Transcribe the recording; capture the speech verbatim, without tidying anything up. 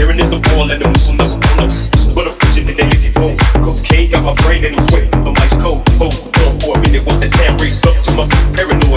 Hearing it the ball, let them loosen up, pull up. But I'm pushing it, they let it go. Cocaine got my brain and it's wet. I'm ice cold, cold, cold for a minute. Once that sand raised up to my paranoid.